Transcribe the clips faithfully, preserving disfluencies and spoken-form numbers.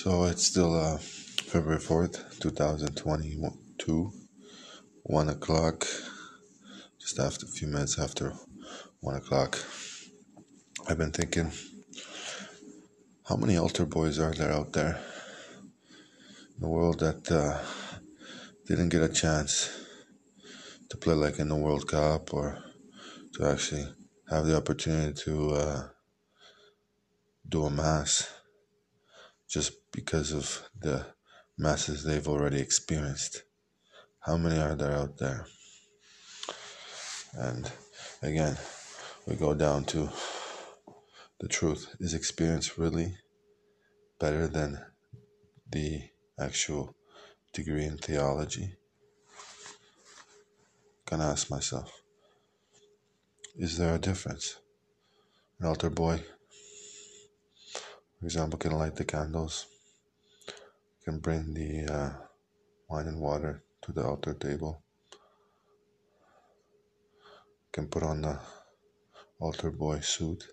So it's still uh, February fourth, two thousand twenty-two, one o'clock, just after a few minutes after one o'clock. I've been thinking, how many altar boys are there out there in the world that uh, didn't get a chance to play like in the World Cup or to actually have the opportunity to uh, do a mass just because of the masses they've already experienced? How many are there out there? And again, we go down to the truth. Is experience really better than the actual degree in theology? Can I ask myself, is there a difference? An altar boy, for example, can light the candles, can bring the uh, wine and water to the altar table, can put on the altar boy suit,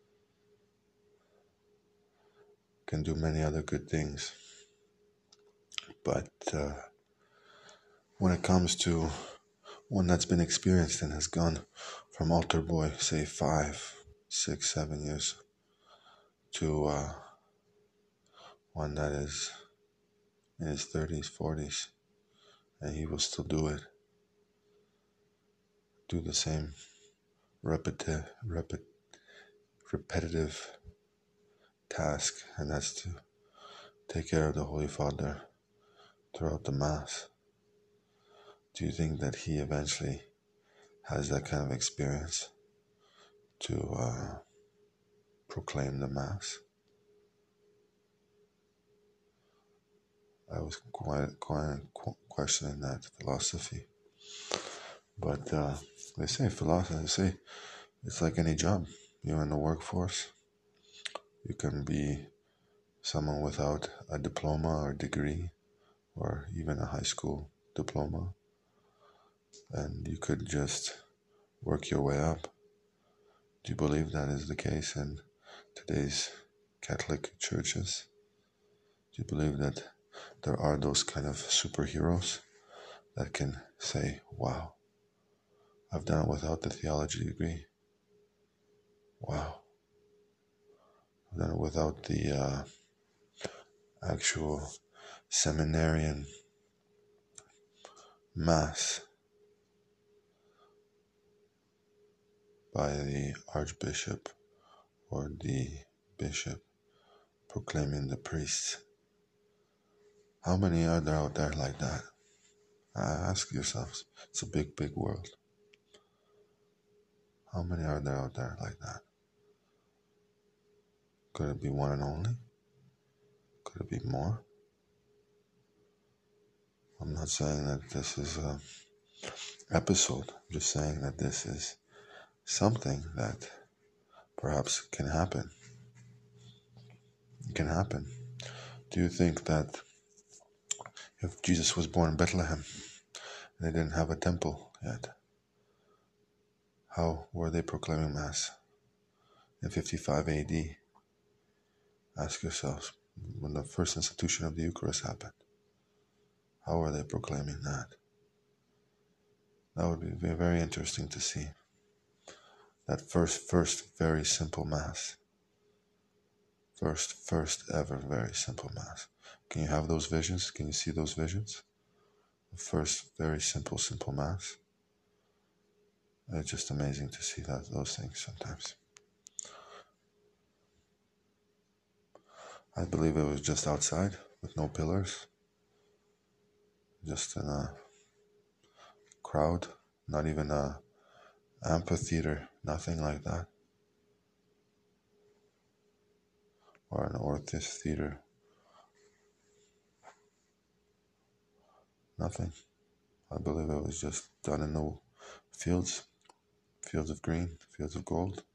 can do many other good things. But uh, when it comes to one that's been experienced and has gone from altar boy, say five, six, seven years, to uh, one that is in his thirties, forties, and he will still do it, do the same repeti- repet- repetitive task, and that's to take care of the Holy Father throughout the Mass. Do you think that he eventually has that kind of experience to uh, proclaim the Mass? I was quite, quite questioning that philosophy. But uh, they say philosophy, they say it's like any job. You're in the workforce. You can be someone without a diploma or degree or even a high school diploma, and you could just work your way up. Do you believe that is the case in today's Catholic churches? Do you believe that there are those kind of superheroes that can say, wow, I've done it without the theology degree. Wow. I've done it without the uh, actual seminarian mass by the archbishop or the bishop proclaiming the priests. How many are there out there like that? Ask yourselves. It's a big, big world. How many are there out there like that? Could it be one and only? Could it be more? I'm not saying that this is an episode. I'm just saying that this is something that perhaps can happen. It can happen. Do you think that if Jesus was born in Bethlehem and they didn't have a temple yet, how were they proclaiming Mass in fifty-five A D? Ask yourselves, when the first institution of the Eucharist happened, how were they proclaiming that? That would be very interesting to see. That first, first very simple Mass. First, first ever very simple Mass. Can you have those visions? Can you see those visions? The first very simple, simple Mass. It's just amazing to see that those things sometimes. I believe it was just outside with no pillars. Just in a crowd, not even a amphitheater, nothing like that. Or an Orthodox theater. Nothing. I believe it was just done in the fields, fields of green, fields of gold.